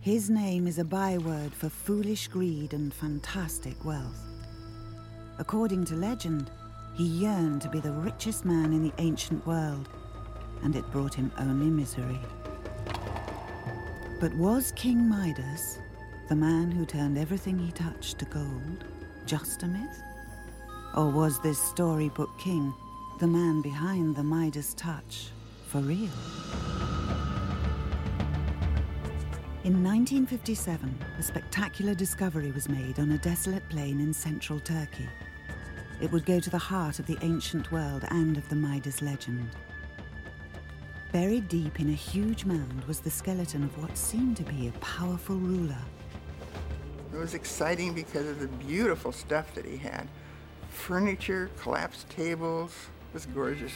His name is a byword for foolish greed and fantastic wealth. According to legend, he yearned to be the richest man in the ancient world, and it brought him only misery. But was King Midas, the man who turned everything he touched to gold, just a myth? Or was this storybook king, the man behind the Midas touch, for real? In 1957, a spectacular discovery was made on a desolate plain in central Turkey. It would go to the heart of the ancient world and of the Midas legend. Buried deep in a huge mound was the skeleton of what seemed to be a powerful ruler. It was exciting because of the beautiful stuff that he had. Furniture, collapsed tables, it was gorgeous.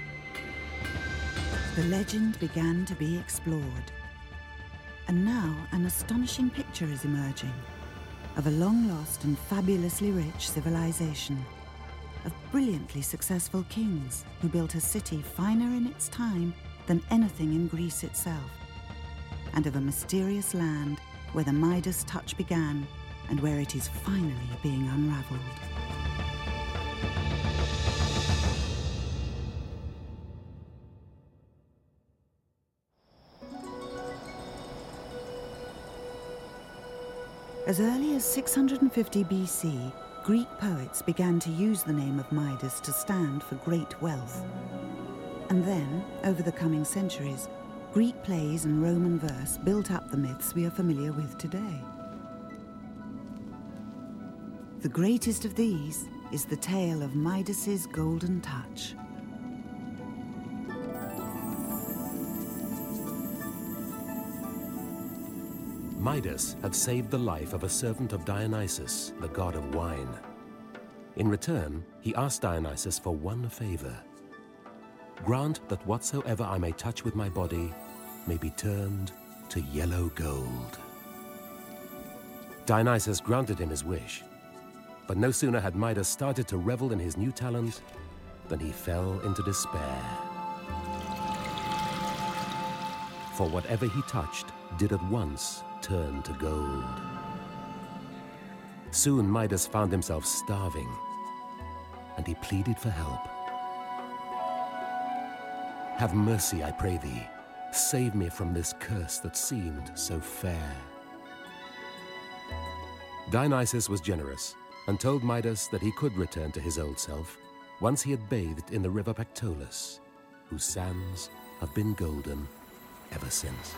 The legend began to be explored. And now an astonishing picture is emerging of a long-lost and fabulously rich civilization, of brilliantly successful kings who built a city finer in its time than anything in Greece itself, and of a mysterious land where the Midas touch began and where it is finally being unraveled. As early as 650 BC, Greek poets began to use the name of Midas to stand for great wealth. And then, over the coming centuries, Greek plays and Roman verse built up the myths we are familiar with today. The greatest of these is the tale of Midas's golden touch. Midas had saved the life of a servant of Dionysus, the god of wine. In return, he asked Dionysus for one favor. Grant that whatsoever I may touch with my body may be turned to yellow gold. Dionysus granted him his wish, but no sooner had Midas started to revel in his new talent than he fell into despair. For whatever he touched did at once turn to gold. Soon Midas found himself starving, and he pleaded for help. Have mercy, I pray thee. Save me from this curse that seemed so fair. Dionysus was generous and told Midas that he could return to his old self once he had bathed in the river Pactolus, whose sands have been golden ever since.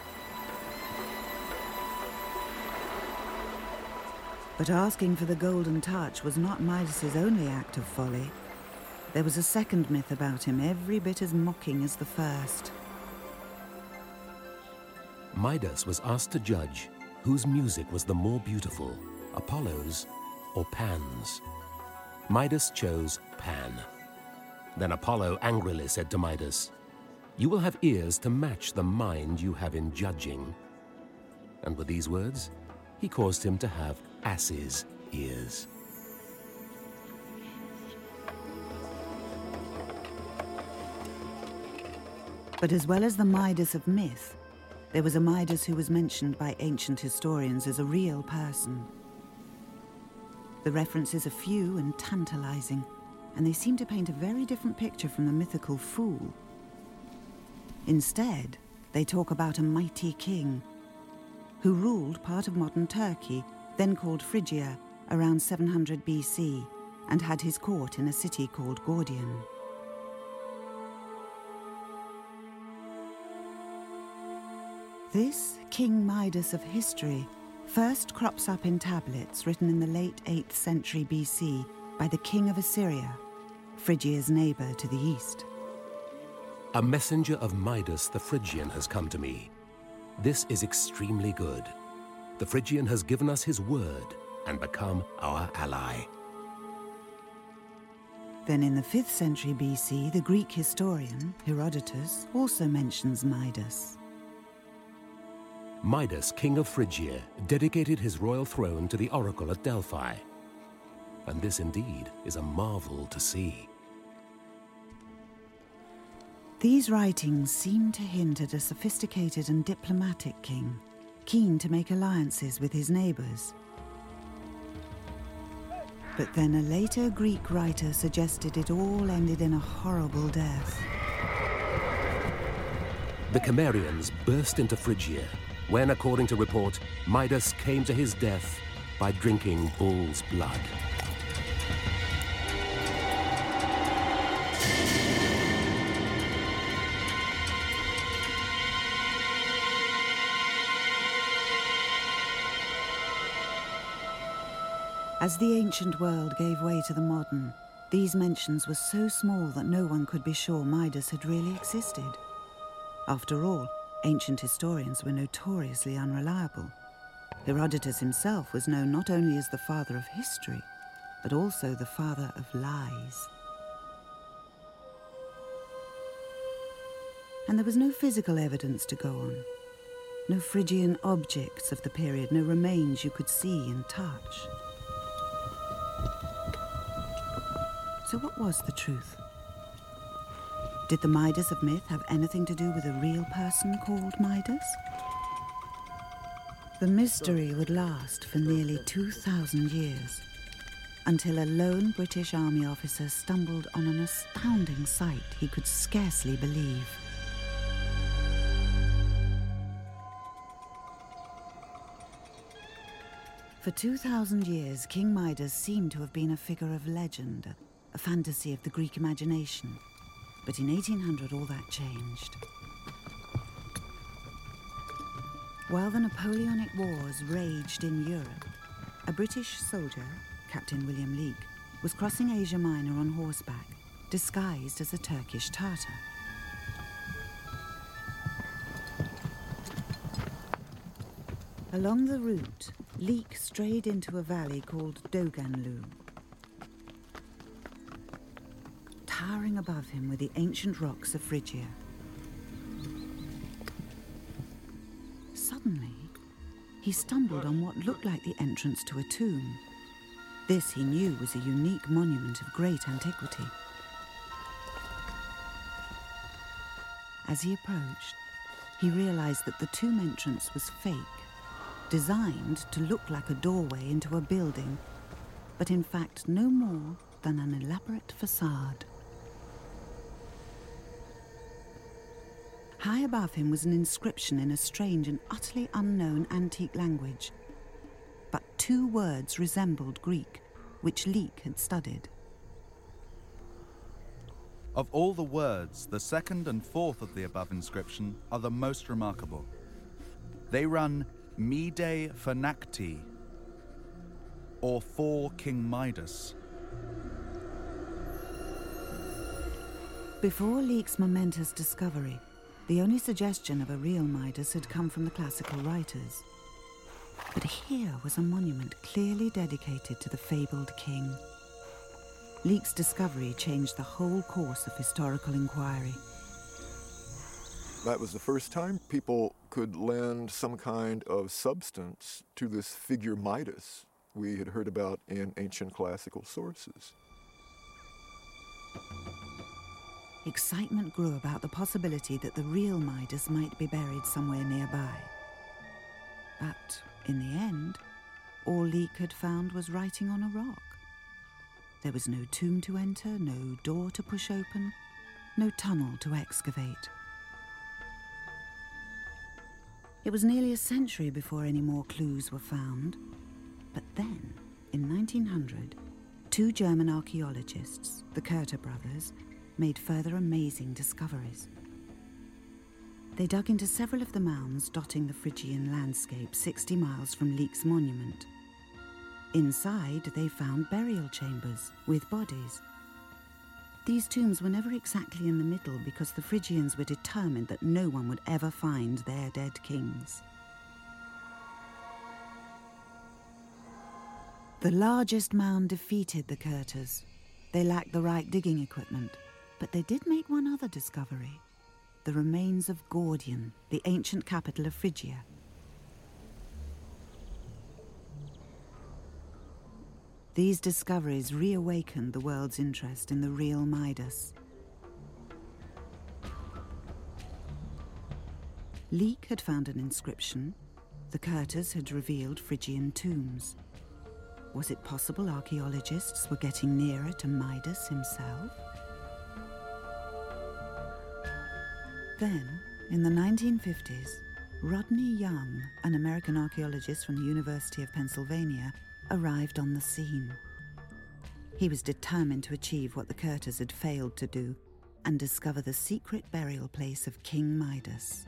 But asking for the golden touch was not Midas's only act of folly. There was a second myth about him, every bit as mocking as the first. Midas was asked to judge whose music was the more beautiful, Apollo's or Pan's. Midas chose Pan. Then Apollo angrily said to Midas, "You will have ears to match the mind you have in judging." And with these words, he caused him to have ass's ears. But as well as the Midas of myth, there was a Midas who was mentioned by ancient historians as a real person. The references are few and tantalizing, and they seem to paint a very different picture from the mythical fool. Instead, they talk about a mighty king who ruled part of modern Turkey, then called Phrygia, around 700 BC, and had his court in a city called Gordion. This King Midas of history first crops up in tablets written in the late 8th century BC by the king of Assyria, Phrygia's neighbor to the east. A messenger of Midas the Phrygian has come to me. This is extremely good. The Phrygian has given us his word and become our ally. Then in the 5th century BC, the Greek historian, Herodotus, also mentions Midas. Midas, king of Phrygia, dedicated his royal throne to the oracle at Delphi. And this indeed is a marvel to see. These writings seem to hint at a sophisticated and diplomatic king, keen to make alliances with his neighbours. But then a later Greek writer suggested it all ended in a horrible death. The Cimmerians burst into Phrygia when, according to report, Midas came to his death by drinking bull's blood. As the ancient world gave way to the modern, these mentions were so small that no one could be sure Midas had really existed. After all, ancient historians were notoriously unreliable. Herodotus himself was known not only as the father of history, but also the father of lies. And there was no physical evidence to go on. No Phrygian objects of the period, no remains you could see and touch. So what was the truth? Did the Midas of myth have anything to do with a real person called Midas? The mystery would last for nearly 2,000 years, until a lone British Army officer stumbled on an astounding sight he could scarcely believe. For 2,000 years, King Midas seemed to have been a figure of legend, a fantasy of the Greek imagination. But in 1800, all that changed. While the Napoleonic Wars raged in Europe, a British soldier, Captain William Leake, was crossing Asia Minor on horseback, disguised as a Turkish Tartar. Along the route, Leake strayed into a valley called Doganlu. Towering above him were the ancient rocks of Phrygia. Suddenly, he stumbled on what looked like the entrance to a tomb. This, he knew, was a unique monument of great antiquity. As he approached, he realized that the tomb entrance was fake, designed to look like a doorway into a building, but in fact no more than an elaborate facade. High above him was an inscription in a strange and utterly unknown antique language. But two words resembled Greek, which Leake had studied. Of all the words, the second and fourth of the above inscription are the most remarkable. They run Mide Phonakti, or for King Midas. Before Leake's momentous discovery, the only suggestion of a real Midas had come from the classical writers. But here was a monument clearly dedicated to the fabled king. Leake's discovery changed the whole course of historical inquiry. That was the first time people could lend some kind of substance to this figure Midas we had heard about in ancient classical sources. Excitement grew about the possibility that the real Midas might be buried somewhere nearby. But in the end, all Leake had found was writing on a rock. There was no tomb to enter, no door to push open, no tunnel to excavate. It was nearly a century before any more clues were found. But then, in 1900, two German archaeologists, the Curter brothers, made further amazing discoveries. They dug into several of the mounds dotting the Phrygian landscape 60 miles from Leake's monument. Inside, they found burial chambers with bodies. These tombs were never exactly in the middle because the Phrygians were determined that no one would ever find their dead kings. The largest mound defeated the Curters. They lacked the right digging equipment, but they did make one other discovery: the remains of Gordion, the ancient capital of Phrygia. These discoveries reawakened the world's interest in the real Midas. Leake had found an inscription, The Curters had revealed Phrygian tombs. Was it possible archaeologists were getting nearer to Midas himself? Then, in the 1950s, Rodney Young, an American archaeologist from the University of Pennsylvania, arrived on the scene. He was determined to achieve what the Curters had failed to do and discover the secret burial place of King Midas.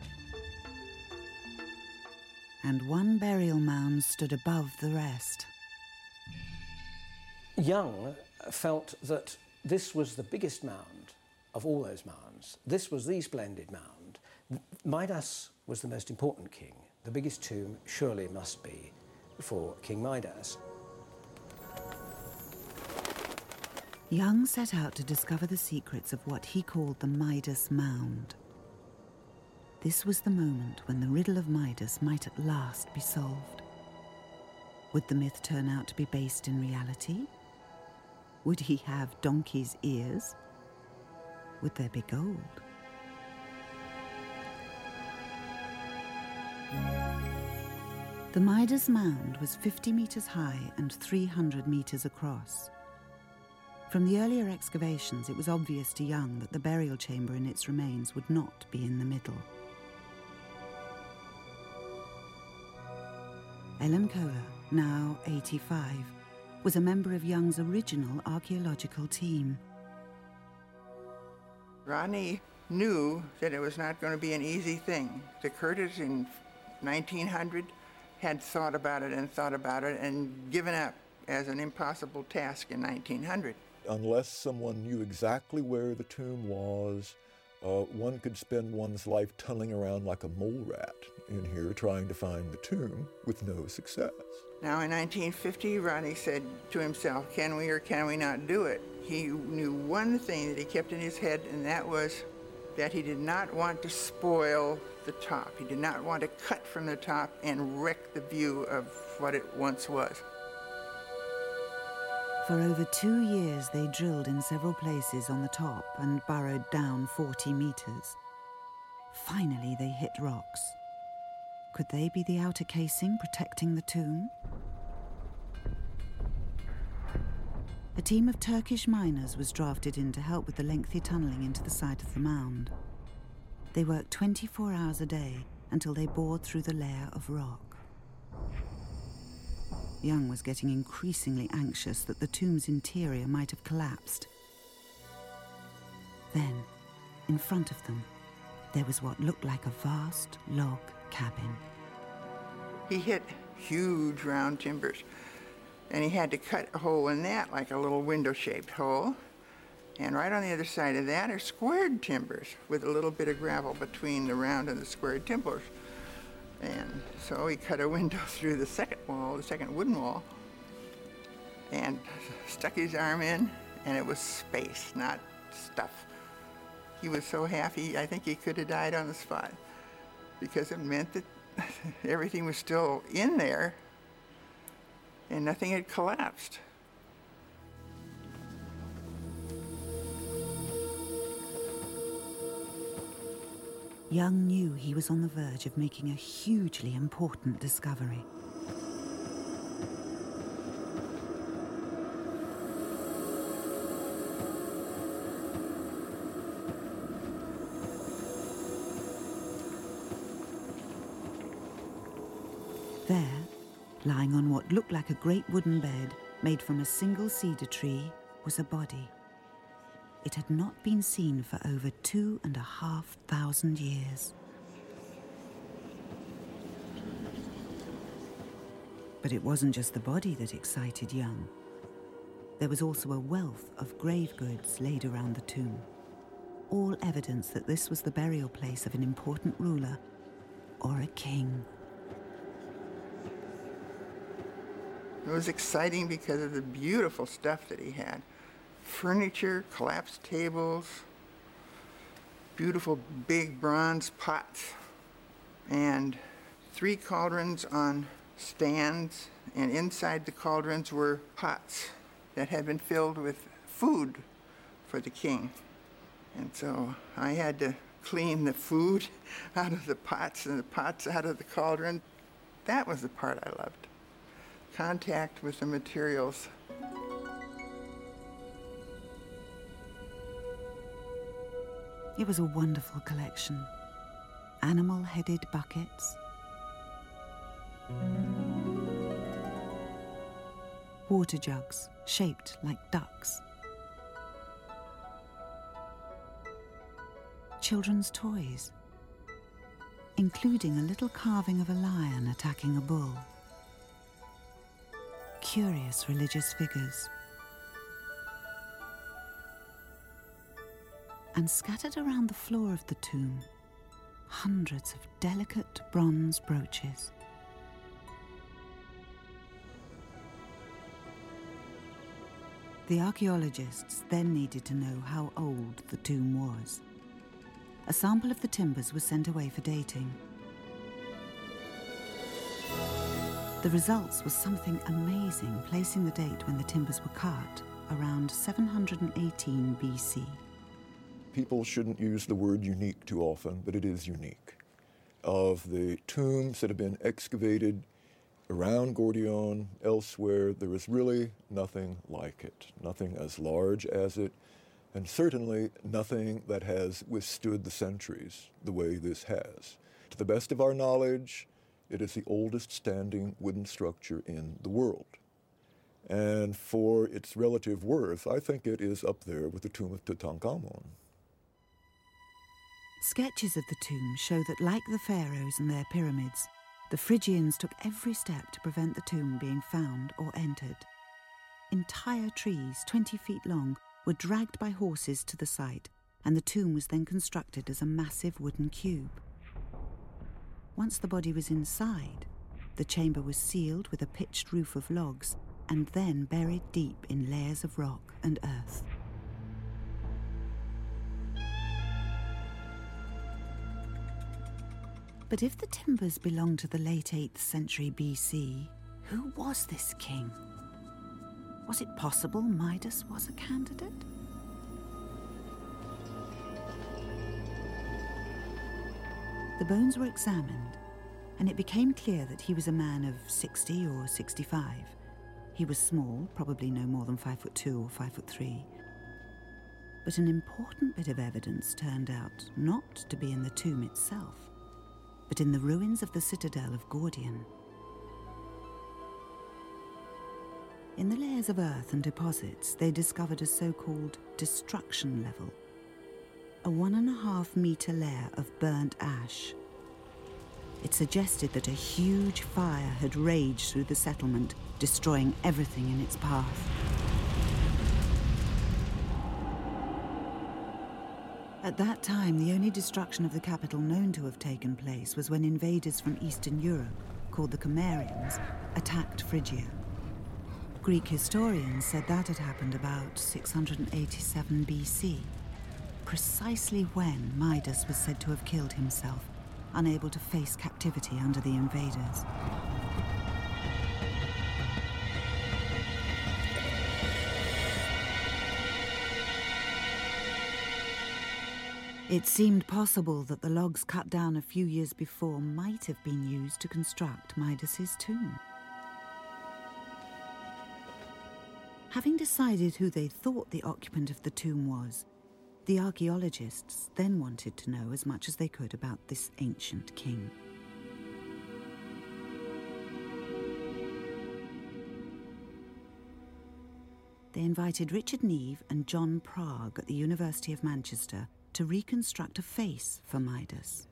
And one burial mound stood above the rest. Young felt that this was the biggest mound of all those mounds. This was the splendid mound. Midas was the most important king. The biggest tomb surely must be for King Midas. Young set out to discover the secrets of what he called the Midas Mound. This was the moment when the riddle of Midas might at last be solved. Would the myth turn out to be based in reality? Would he have donkey's ears? Would there be gold? The Midas Mound was 50 meters high and 300 meters across. From the earlier excavations, it was obvious to Young that the burial chamber and its remains would not be in the middle. Ellen Kohler, now 85, was a member of Young's original archaeological team. Rodney knew that it was not going to be an easy thing. The Curters in 1900 had thought about it and given up as an impossible task in 1900. Unless someone knew exactly where the tomb was, one could spend one's life tunneling around like a mole rat in here trying to find the tomb with no success. Now in 1950, Rodney said to himself, can we or can we not do it? He knew one thing that he kept in his head, and that was that he did not want to spoil the top. He did not want to cut from the top and wreck the view of what it once was. For over 2 years, they drilled in several places on the top and burrowed down 40 meters. Finally, they hit rocks. Could they be the outer casing protecting the tomb? A team of Turkish miners was drafted in to help with the lengthy tunneling into the side of the mound. They worked 24 hours a day until they bored through the layer of rock. Young was getting increasingly anxious that the tomb's interior might have collapsed. Then, in front of them, there was what looked like a vast log cabin. He hit huge round timbers, and he had to cut a hole in that, like a little window-shaped hole. And right on the other side of that are squared timbers with a little bit of gravel between the round and the squared timbers. And so he cut a window through the second wall, the second wooden wall, and stuck his arm in, and it was space, not stuff. He was so happy, I think he could have died on the spot, because it meant that everything was still in there and nothing had collapsed. Young knew he was on the verge of making a hugely important discovery. There, lying on what looked like a great wooden bed made from a single cedar tree, was a body. It had not been seen for over 2,500 years. But it wasn't just the body that excited Young. There was also a wealth of grave goods laid around the tomb, all evidence that this was the burial place of an important ruler or a king. It was exciting because of the beautiful stuff that he had. Furniture, collapsed tables, beautiful big bronze pots, and 3 cauldrons on stands, and inside the cauldrons were pots that had been filled with food for the king. And so I had to clean the food out of the pots and the pots out of the cauldron. That was the part I loved. Contact with the materials. It was a wonderful collection. Animal-headed buckets, water jugs shaped like ducks, children's toys, including a little carving of a lion attacking a bull, curious religious figures, and scattered around the floor of the tomb, hundreds of delicate bronze brooches. The archaeologists then needed to know how old the tomb was. A sample of the timbers was sent away for dating. The results was something amazing, placing the date when the timbers were cut around 718 BC. People shouldn't use the word unique too often, but it is unique. Of the tombs that have been excavated around Gordion, elsewhere, there is really nothing like it, nothing as large as it, and certainly nothing that has withstood the centuries the way this has. To the best of our knowledge, it is the oldest standing wooden structure in the world. And for its relative worth, I think it is up there with the tomb of Tutankhamun. Sketches of the tomb show that, like the pharaohs and their pyramids, the Phrygians took every step to prevent the tomb being found or entered. Entire trees, 20 feet long, were dragged by horses to the site, and the tomb was then constructed as a massive wooden cube. Once the body was inside, the chamber was sealed with a pitched roof of logs and then buried deep in layers of rock and earth. But if the timbers belonged to the late 8th century BC, who was this king? Was it possible Midas was a candidate? The bones were examined, and it became clear that he was a man of 60 or 65. He was small, probably no more than 5'2" or 5'3". But an important bit of evidence turned out not to be in the tomb itself, but in the ruins of the citadel of Gordion. In the layers of earth and deposits, they discovered a so-called destruction level, a 1.5 meter layer of burnt ash. It suggested that a huge fire had raged through the settlement, destroying everything in its path. At that time, the only destruction of the capital known to have taken place was when invaders from Eastern Europe, called the Cimmerians, attacked Phrygia. Greek historians said that had happened about 687 BC, precisely when Midas was said to have killed himself, unable to face captivity under the invaders. It seemed possible that the logs cut down a few years before might have been used to construct Midas's tomb. Having decided who they thought the occupant of the tomb was, the archaeologists then wanted to know as much as they could about this ancient king. They invited Richard Neve and John Prague at the University of Manchester to reconstruct a face for Midas.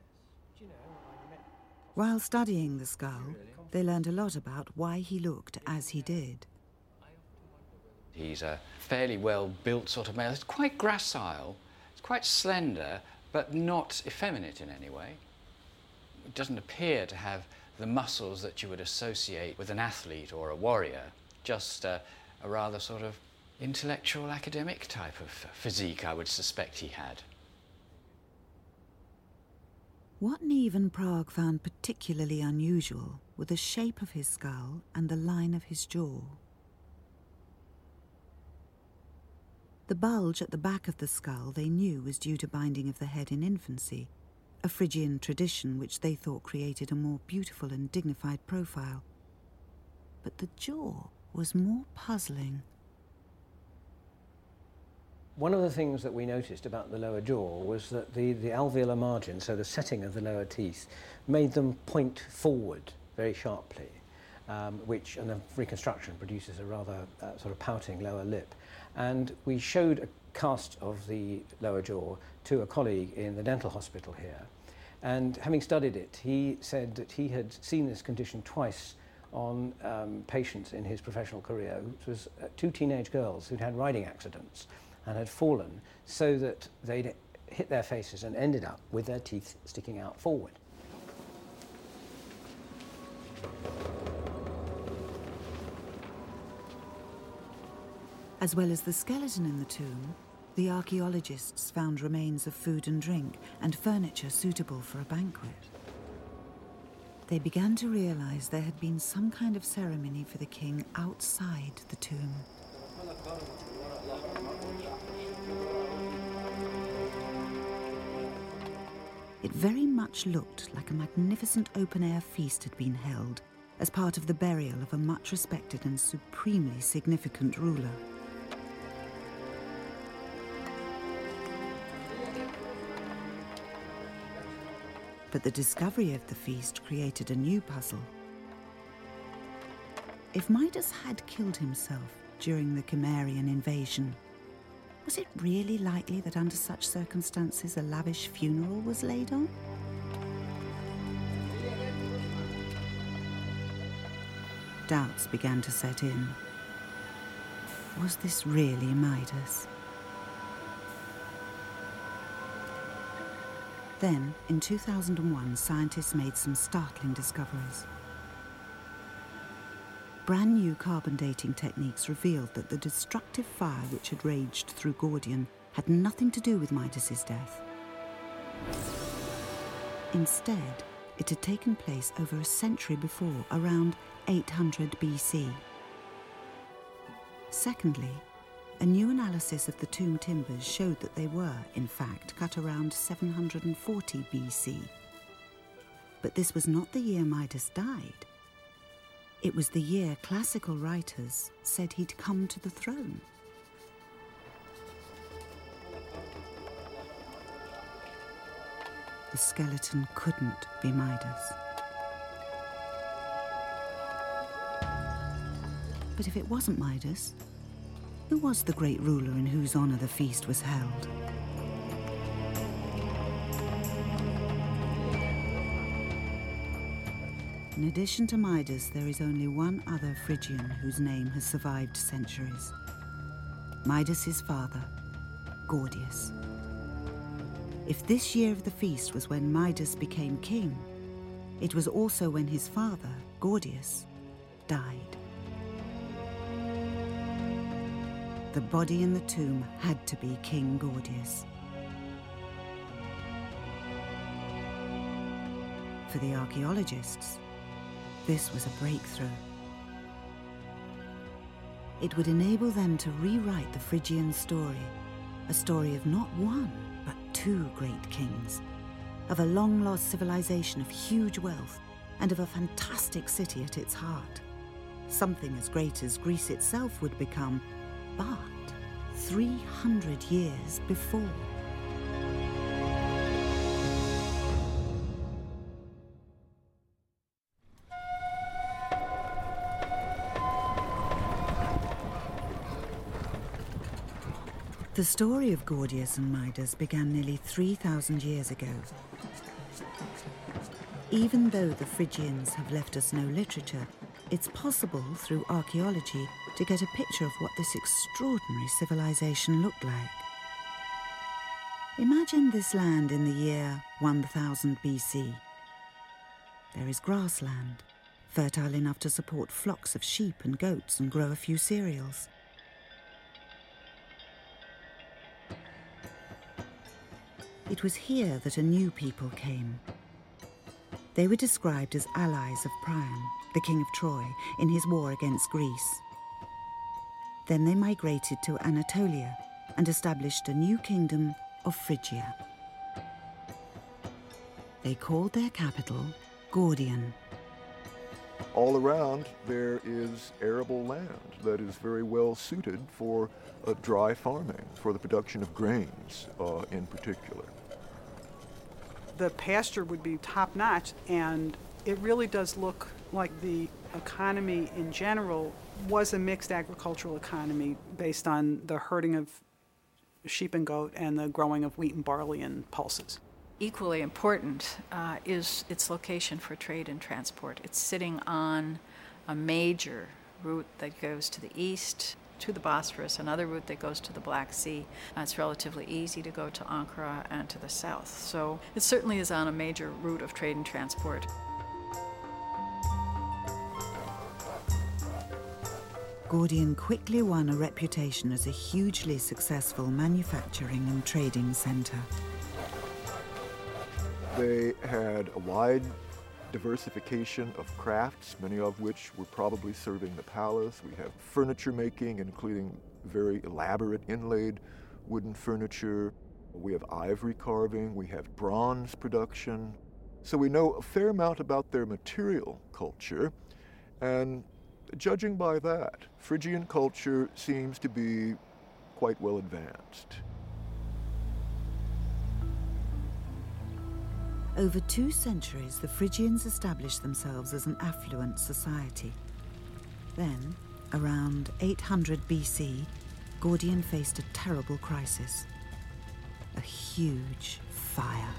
While studying the skull, they learned a lot about why he looked as he did. He's a fairly well-built sort of male. It's quite gracile, it's quite slender, but not effeminate in any way. It doesn't appear to have the muscles that you would associate with an athlete or a warrior, just a rather sort of intellectual, academic type of physique I would suspect he had. What Neve and Prague found particularly unusual were the shape of his skull and the line of his jaw. The bulge at the back of the skull they knew was due to binding of the head in infancy, a Phrygian tradition which they thought created a more beautiful and dignified profile. But the jaw was more puzzling. One of the things that we noticed about the lower jaw was that the alveolar margin, so the setting of the lower teeth, made them point forward very sharply, which, and the reconstruction produces a rather sort of pouting lower lip. And we showed a cast of the lower jaw to a colleague in the dental hospital here. And having studied it, he said that he had seen this condition twice on patients in his professional career. It was two teenage girls who'd had riding accidents and had fallen so that they'd hit their faces and ended up with their teeth sticking out forward. As well as the skeleton in the tomb, the archaeologists found remains of food and drink and furniture suitable for a banquet. They began to realize there had been some kind of ceremony for the king outside the tomb. It very much looked like a magnificent open-air feast had been held as part of the burial of a much respected and supremely significant ruler. But the discovery of the feast created a new puzzle. If Midas had killed himself during the Cimmerian invasion, was it really likely that under such circumstances a lavish funeral was laid on? Doubts began to set in. Was this really Midas? Then, in 2001, scientists made some startling discoveries. Brand new carbon dating techniques revealed that the destructive fire which had raged through Gordion had nothing to do with Midas's death. Instead, it had taken place over a century before, around 800 BC. Secondly, a new analysis of the tomb timbers showed that they were, in fact, cut around 740 BC. But this was not the year Midas died. It was the year classical writers said he'd come to the throne. The skeleton couldn't be Midas. But if it wasn't Midas, who was the great ruler in whose honor the feast was held? In addition to Midas, there is only one other Phrygian whose name has survived centuries. Midas's father, Gordius. If this year of the feast was when Midas became king, it was also when his father, Gordius, died. The body in the tomb had to be King Gordius. For the archaeologists, this was a breakthrough. It would enable them to rewrite the Phrygian story, a story of not one, but two great kings, of a long-lost civilization of huge wealth, and of a fantastic city at its heart. Something as great as Greece itself would become, but 300 years before. The story of Gordius and Midas began nearly 3,000 years ago. Even though the Phrygians have left us no literature, it's possible through archaeology to get a picture of what this extraordinary civilization looked like. Imagine this land in the year 1000 BC. There is grassland, fertile enough to support flocks of sheep and goats and grow a few cereals. It was here that a new people came. They were described as allies of Priam, the king of Troy, in his war against Greece. Then they migrated to Anatolia and established a new kingdom of Phrygia. They called their capital Gordion. All around, there is arable land that is very well suited for dry farming, for the production of grains in particular. The pasture would be top-notch, and it really does look like the economy in general was a mixed agricultural economy based on the herding of sheep and goat and the growing of wheat and barley and pulses. Equally important is its location for trade and transport. It's sitting on a major route that goes to the east, to the Bosphorus, another route that goes to the Black Sea. It's relatively easy to go to Ankara and to the south. So it certainly is on a major route of trade and transport. Gordion quickly won a reputation as a hugely successful manufacturing and trading center. They had a wide diversification of crafts, many of which were probably serving the palace. We have furniture making, including very elaborate inlaid wooden furniture. We have ivory carving, we have bronze production. So we know a fair amount about their material culture, and judging by that, Phrygian culture seems to be quite well advanced. Over 2 centuries, the Phrygians established themselves as an affluent society. Then, around 800 BC, Gordion faced a terrible crisis. A huge fire.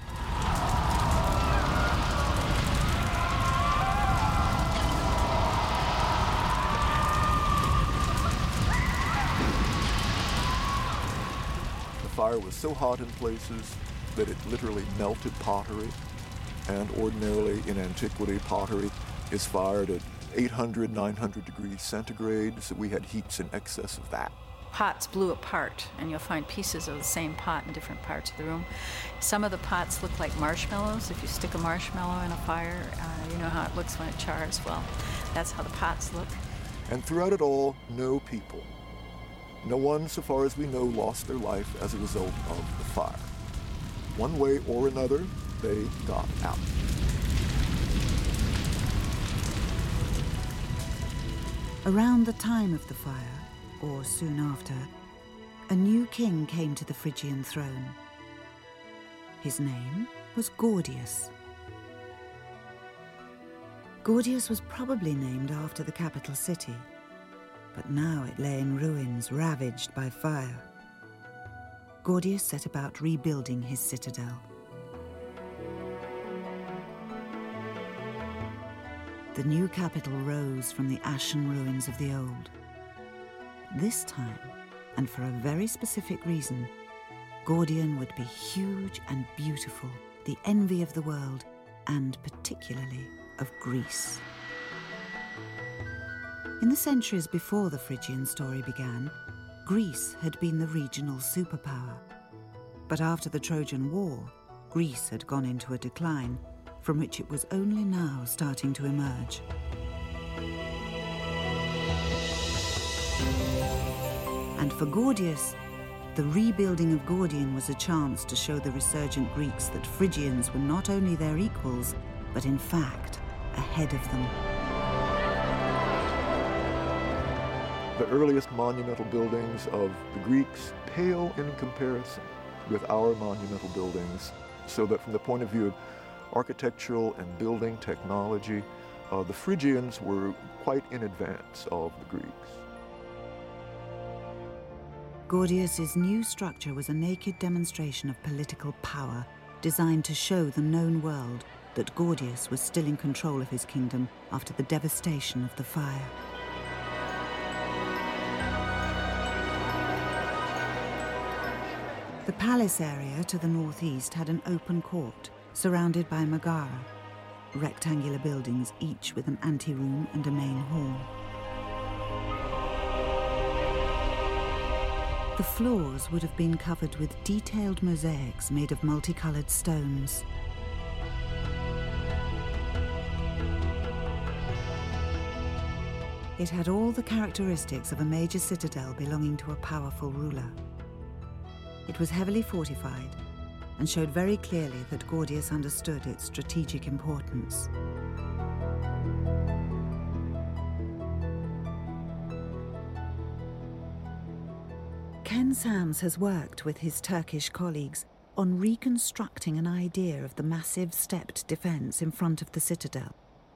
The fire was so hot in places that it literally melted pottery. And ordinarily in antiquity, pottery is fired at 800, 900 degrees centigrade, so we had heats in excess of that. Pots blew apart, and you'll find pieces of the same pot in different parts of the room. Some of the pots look like marshmallows. If you stick a marshmallow in a fire, you know how it looks when it chars. Well, that's how the pots look. And throughout it all, no people. No one, so far as we know, lost their life as a result of the fire. One way or another, they got out. Around the time of the fire, or soon after, a new king came to the Phrygian throne. His name was Gordius. Gordius was probably named after the capital city, but now it lay in ruins, ravaged by fire. Gordius set about rebuilding his citadel. The new capital rose from the ashen ruins of the old. This time, and for a very specific reason, Gordion would be huge and beautiful, the envy of the world, and particularly of Greece. In the centuries before the Phrygian story began, Greece had been the regional superpower. But after the Trojan War, Greece had gone into a decline, from which it was only now starting to emerge. And for Gordius, the rebuilding of Gordion was a chance to show the resurgent Greeks that Phrygians were not only their equals, but in fact, ahead of them. The earliest monumental buildings of the Greeks pale in comparison with our monumental buildings, so that from the point of view of architectural and building technology, the Phrygians were quite in advance of the Greeks. Gordius's new structure was a naked demonstration of political power, designed to show the known world that Gordius was still in control of his kingdom after the devastation of the fire. The palace area to the northeast had an open court, surrounded by Megara, rectangular buildings, each with an anteroom and a main hall. The floors would have been covered with detailed mosaics made of multicolored stones. It had all the characteristics of a major citadel belonging to a powerful ruler. It was heavily fortified, and showed very clearly that Gordius understood its strategic importance. Ken Sams has worked with his Turkish colleagues on reconstructing an idea of the massive stepped defense in front of the citadel.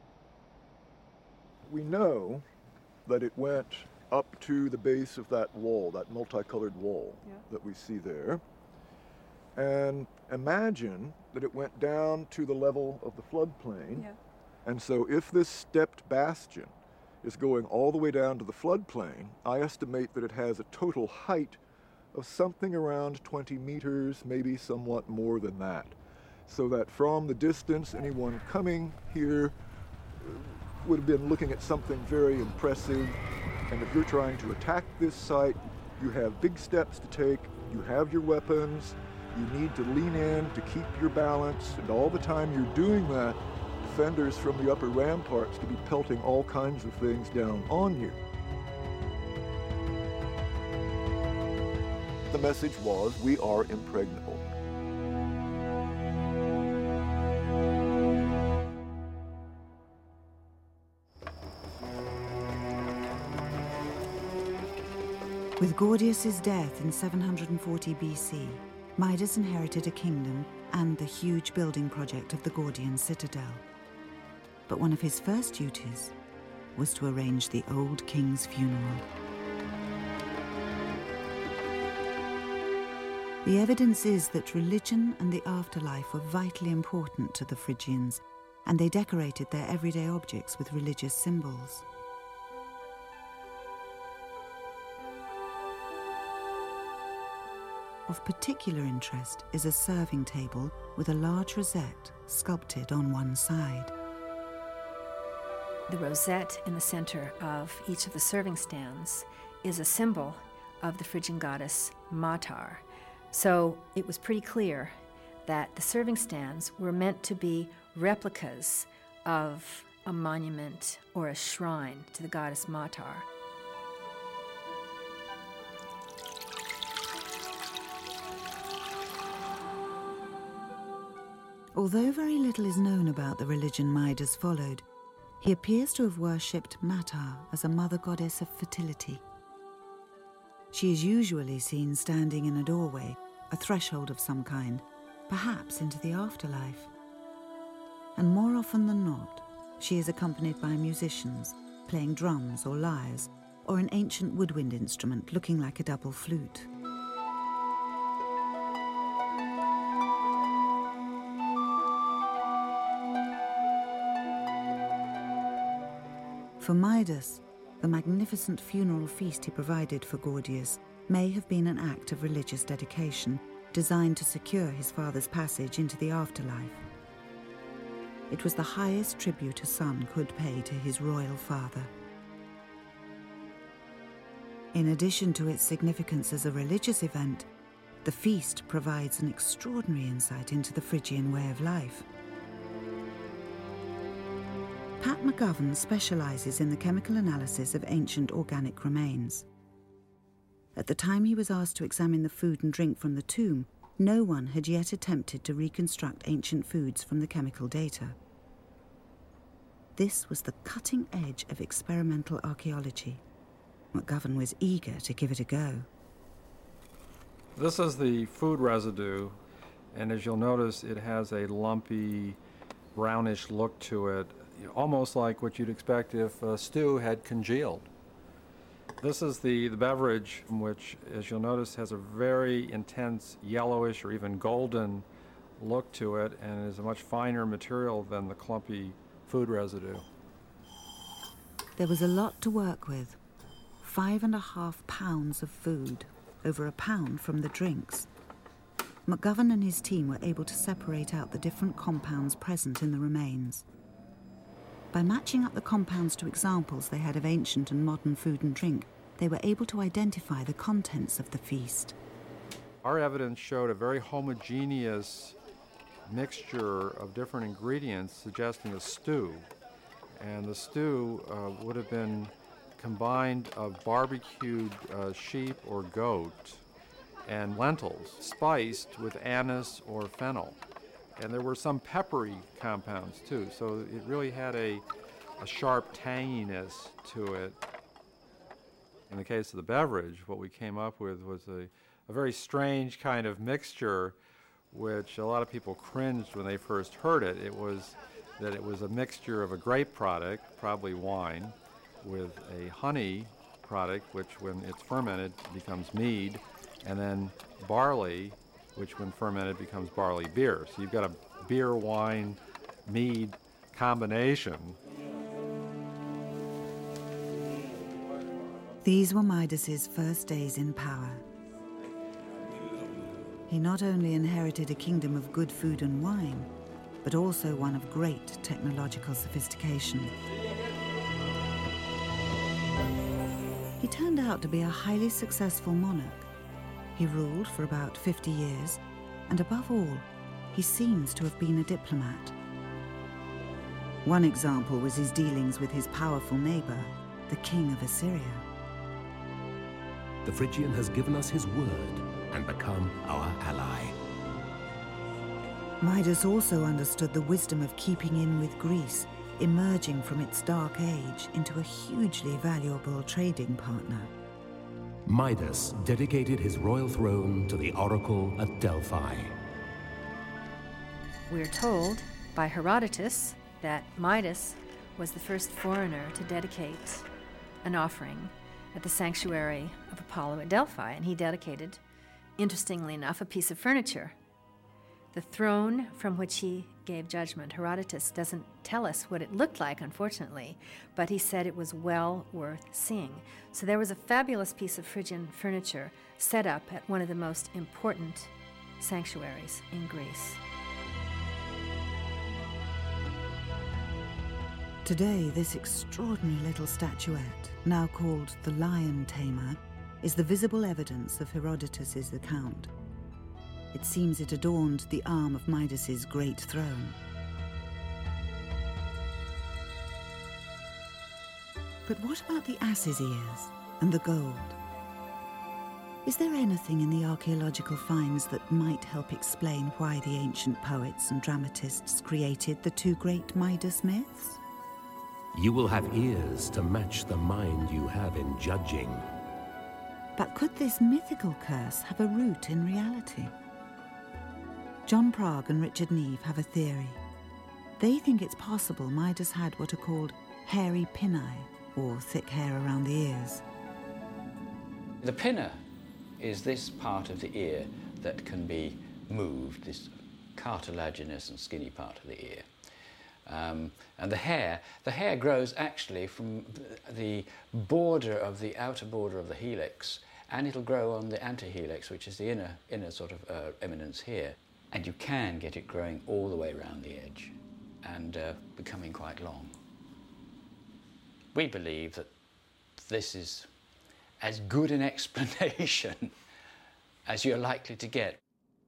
We know that it went up to the base of that wall, that multicolored wall that we see there. And imagine that it went down to the level of the floodplain. Yeah. And so if this stepped bastion is going all the way down to the floodplain, I estimate that it has a total height of something around 20 meters, maybe somewhat more than that. So that from the distance, anyone coming here would have been looking at something very impressive. And if you're trying to attack this site, you have big steps to take, you have your weapons, you need to lean in to keep your balance, and all the time you're doing that, defenders from the upper ramparts could be pelting all kinds of things down on you. The message was, we are impregnable. With Gordius's death in 740 BC, Midas inherited a kingdom and the huge building project of the Gordian citadel. But one of his first duties was to arrange the old king's funeral. The evidence is that religion and the afterlife were vitally important to the Phrygians, and they decorated their everyday objects with religious symbols. Of particular interest is a serving table with a large rosette sculpted on one side. The rosette in the center of each of the serving stands is a symbol of the Phrygian goddess Matar. So it was pretty clear that the serving stands were meant to be replicas of a monument or a shrine to the goddess Matar. Although very little is known about the religion Midas followed, he appears to have worshipped Matar as a mother goddess of fertility. She is usually seen standing in a doorway, a threshold of some kind, perhaps into the afterlife. And more often than not, she is accompanied by musicians, playing drums or lyres, or an ancient woodwind instrument looking like a double flute. For Midas, the magnificent funeral feast he provided for Gordius may have been an act of religious dedication designed to secure his father's passage into the afterlife. It was the highest tribute a son could pay to his royal father. In addition to its significance as a religious event, the feast provides an extraordinary insight into the Phrygian way of life. Pat McGovern specializes in the chemical analysis of ancient organic remains. At the time he was asked to examine the food and drink from the tomb, no one had yet attempted to reconstruct ancient foods from the chemical data. This was the cutting edge of experimental archaeology. McGovern was eager to give it a go. This is the food residue, and as you'll notice, it has a lumpy, brownish look to it, almost like what you'd expect if a stew had congealed. This is the beverage, which, as you'll notice, has a very intense yellowish or even golden look to it, and is a much finer material than the clumpy food residue. There was a lot to work with. 5.5 pounds of food, over a pound from the drinks. McGovern and his team were able to separate out the different compounds present in the remains. By matching up the compounds to examples they had of ancient and modern food and drink, they were able to identify the contents of the feast. Our evidence showed a very homogeneous mixture of different ingredients suggesting a stew. And the stew would have been combined of barbecued sheep or goat and lentils, spiced with anise or fennel. And there were some peppery compounds too, so it really had a sharp tanginess to it. In the case of the beverage, what we came up with was a very strange kind of mixture, which a lot of people cringed when they first heard it. It was a mixture of a grape product, probably wine, with a honey product, which when it's fermented becomes mead, and then barley, which when fermented becomes barley beer. So you've got a beer, wine, mead combination. These were Midas's first days in power. He not only inherited a kingdom of good food and wine, but also one of great technological sophistication. He turned out to be a highly successful monarch. He ruled for about 50 years, and above all, he seems to have been a diplomat. One example was his dealings with his powerful neighbor, the king of Assyria. The Phrygian has given us his word and become our ally. Midas also understood the wisdom of keeping in with Greece, emerging from its dark age into a hugely valuable trading partner. Midas dedicated his royal throne to the oracle at Delphi. We're told by Herodotus that Midas was the first foreigner to dedicate an offering at the sanctuary of Apollo at Delphi, and he dedicated, interestingly enough, a piece of furniture. The throne from which he gave judgment, Herodotus doesn't tell us what it looked like, unfortunately, but he said it was well worth seeing. So there was a fabulous piece of Phrygian furniture set up at one of the most important sanctuaries in Greece. Today, this extraordinary little statuette, now called the Lion Tamer, is the visible evidence of Herodotus's account. It seems it adorned the arm of Midas's great throne. But what about the ass's ears and the gold? Is there anything in the archaeological finds that might help explain why the ancient poets and dramatists created the two great Midas myths? You will have ears to match the mind you have in judging. But could this mythical curse have a root in reality? John Prague and Richard Neve have a theory. They think it's possible Midas had what are called hairy pinnae, or thick hair around the ears. The pinna is this part of the ear that can be moved, this cartilaginous and skinny part of the ear. And the hair grows actually from the border of the outer border of the helix, and it'll grow on the antihelix, which is the inner sort of eminence here. And you can get it growing all the way around the edge and becoming quite long. We believe that this is as good an explanation as you're likely to get.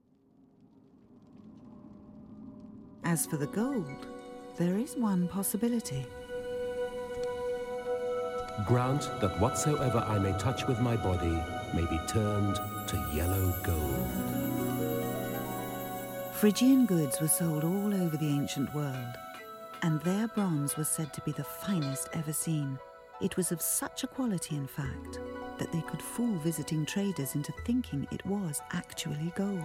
As for the gold, there is one possibility. Grant that whatsoever I may touch with my body may be turned to yellow gold. Phrygian goods were sold all over the ancient world, and their bronze was said to be the finest ever seen. It was of such a quality, in fact, that they could fool visiting traders into thinking it was actually gold.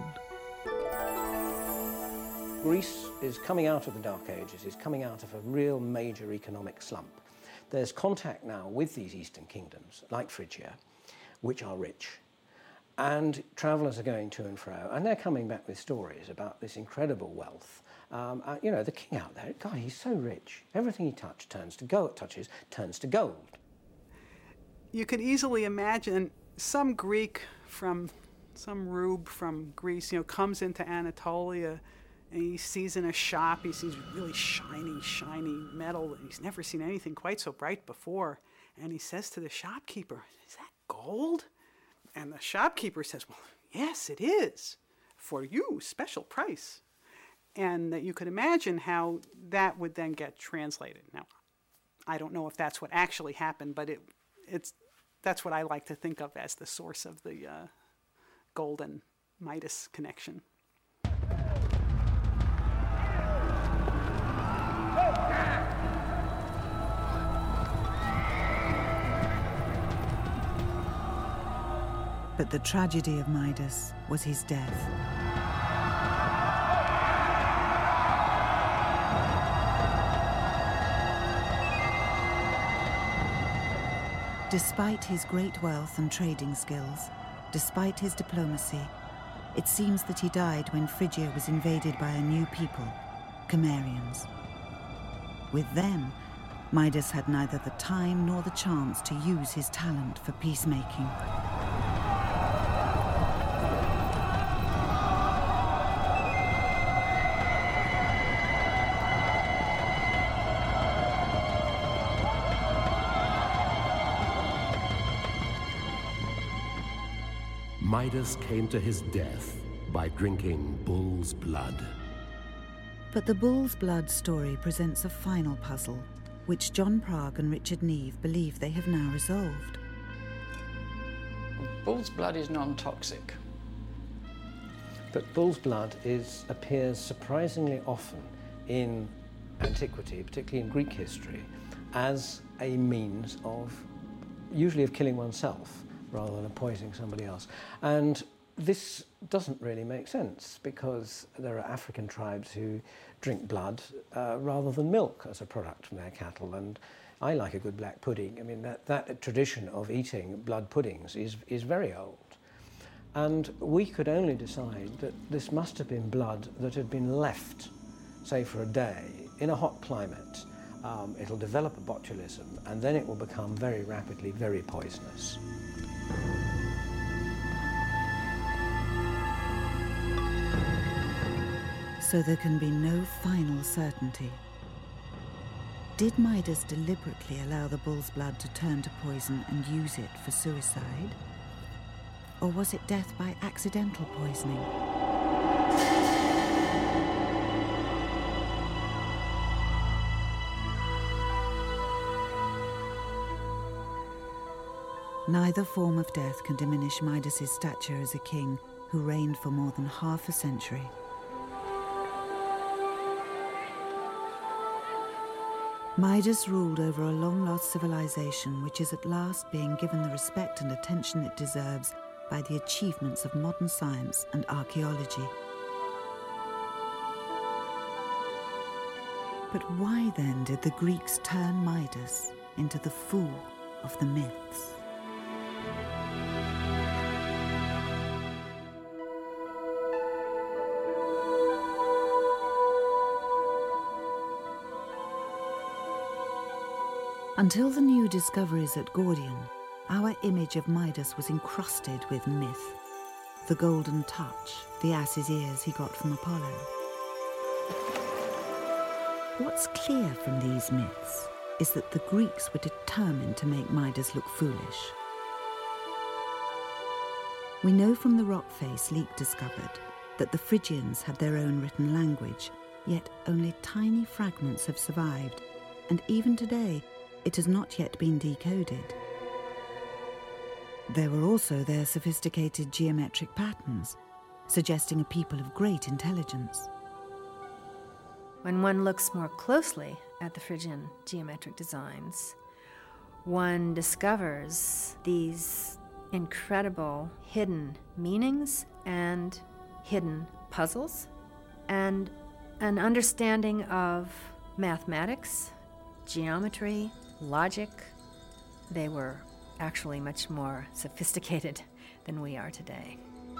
Greece is coming out of the Dark Ages, is coming out of a real major economic slump. There's contact now with these eastern kingdoms, like Phrygia, which are rich. And travellers are going to and fro, and they're coming back with stories about this incredible wealth. You know, the king out there, God, he's so rich. Everything he touches turns to gold. You could easily imagine some Greek from, some rube from Greece, you know, comes into Anatolia and he sees in a shop, he sees really shiny metal. He's never seen anything quite so bright before. And he says to the shopkeeper, "Is that gold?" And the shopkeeper says, "Well, yes, it is. For you, special price." And that you could imagine how that would then get translated. Now, I don't know if that's what actually happened, but that's what I like to think of as the source of the golden Midas connection. But the tragedy of Midas was his death. Despite his great wealth and trading skills, despite his diplomacy, it seems that he died when Phrygia was invaded by a new people, Cimmerians. With them, Midas had neither the time nor the chance to use his talent for peacemaking. Midas came to his death by drinking bull's blood. But the bull's blood story presents a final puzzle, which John Prague and Richard Neve believe they have now resolved. Bull's blood is non-toxic. But bull's blood appears surprisingly often in antiquity, particularly in Greek history, as a means of, usually of killing oneself, rather than poisoning somebody else. And this doesn't really make sense, because there are African tribes who drink blood rather than milk as a product from their cattle. And I like a good black pudding. I mean, that tradition of eating blood puddings is very old. And we could only decide that this must have been blood that had been left, say, for a day in a hot climate. It'll develop a botulism, and then it will become very rapidly very poisonous. So there can be no final certainty. Did Midas deliberately allow the bull's blood to turn to poison and use it for suicide? Or was it death by accidental poisoning? Neither form of death can diminish Midas's stature as a king who reigned for more than half a century. Midas ruled over a long-lost civilization which is at last being given the respect and attention it deserves by the achievements of modern science and archaeology. But why then did the Greeks turn Midas into the fool of the myths? Until the new discoveries at Gordian, our image of Midas was encrusted with myth. The golden touch, the ass's ears he got from Apollo. What's clear from these myths is that the Greeks were determined to make Midas look foolish. We know from the rock face Leek discovered that the Phrygians had their own written language, yet only tiny fragments have survived, and even today, it has not yet been decoded. There were also their sophisticated geometric patterns, suggesting a people of great intelligence. When one looks more closely at the Phrygian geometric designs, one discovers these incredible hidden meanings and hidden puzzles, and an understanding of mathematics, geometry, logic. They were actually much more sophisticated than we are today.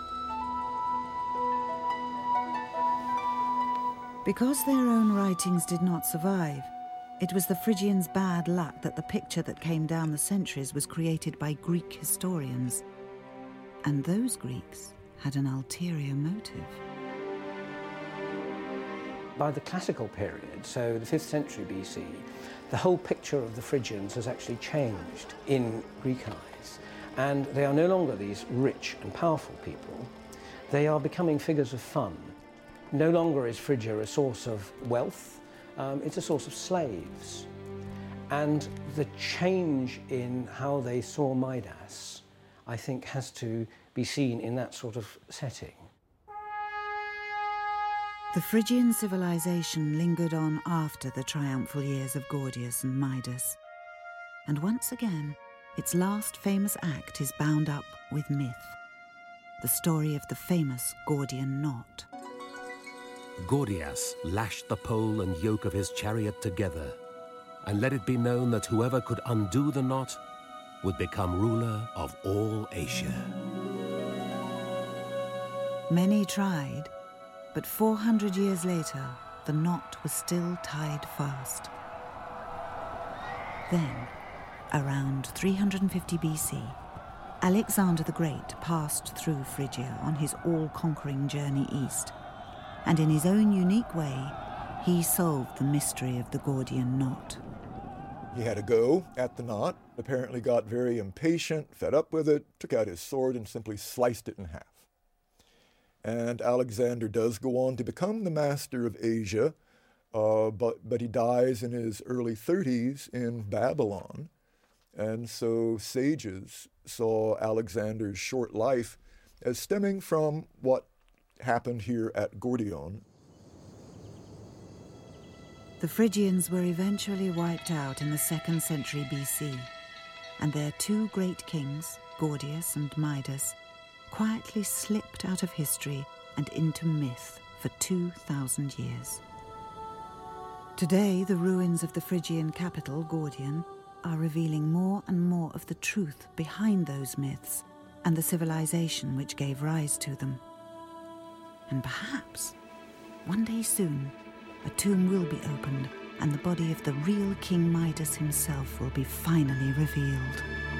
Because their own writings did not survive, it was the Phrygians' bad luck that the picture that came down the centuries was created by Greek historians. And those Greeks had an ulterior motive. By the classical period, so the 5th century BC, the whole picture of the Phrygians has actually changed in Greek eyes. And they are no longer these rich and powerful people. They are becoming figures of fun. No longer is Phrygia a source of wealth, it's a source of slaves. And the change in how they saw Midas, I think, has to be seen in that sort of setting. The Phrygian civilization lingered on after the triumphal years of Gordius and Midas. And once again, its last famous act is bound up with myth. The story of the famous Gordian knot. Gordias lashed the pole and yoke of his chariot together, and let it be known that whoever could undo the knot would become ruler of all Asia. Many tried, but 400 years later, the knot was still tied fast. Then, around 350 BC, Alexander the Great passed through Phrygia on his all-conquering journey east, and in his own unique way, he solved the mystery of the Gordian knot. He had a go at the knot, apparently got very impatient, fed up with it, took out his sword and simply sliced it in half. And Alexander does go on to become the master of Asia, but he dies in his early 30s in Babylon. And so sages saw Alexander's short life as stemming from what happened here at Gordion. The Phrygians were eventually wiped out in the 2nd century BC, and their two great kings, Gordius and Midas, quietly slipped out of history and into myth for 2,000 years. Today, the ruins of the Phrygian capital, Gordion, are revealing more and more of the truth behind those myths and the civilization which gave rise to them. And perhaps, one day soon, a tomb will be opened and the body of the real King Midas himself will be finally revealed.